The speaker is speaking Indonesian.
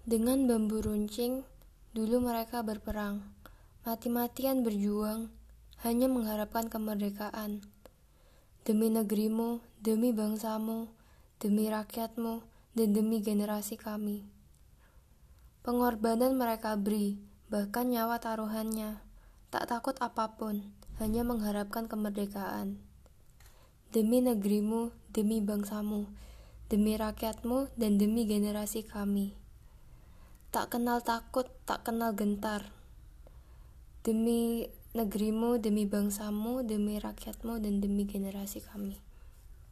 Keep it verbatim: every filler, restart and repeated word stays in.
Dengan bambu runcing, dulu mereka berperang, mati-matian berjuang, hanya mengharapkan kemerdekaan. Demi negerimu, demi bangsamu, demi rakyatmu, dan demi generasi kami. Pengorbanan mereka beri, bahkan nyawa taruhannya, tak takut apapun, hanya mengharapkan kemerdekaan. Demi negerimu, demi bangsamu, demi rakyatmu, dan demi generasi kami. Tak kenal takut, tak kenal gentar. Demi negerimu, demi bangsamu, demi rakyatmu, dan demi generasi kami.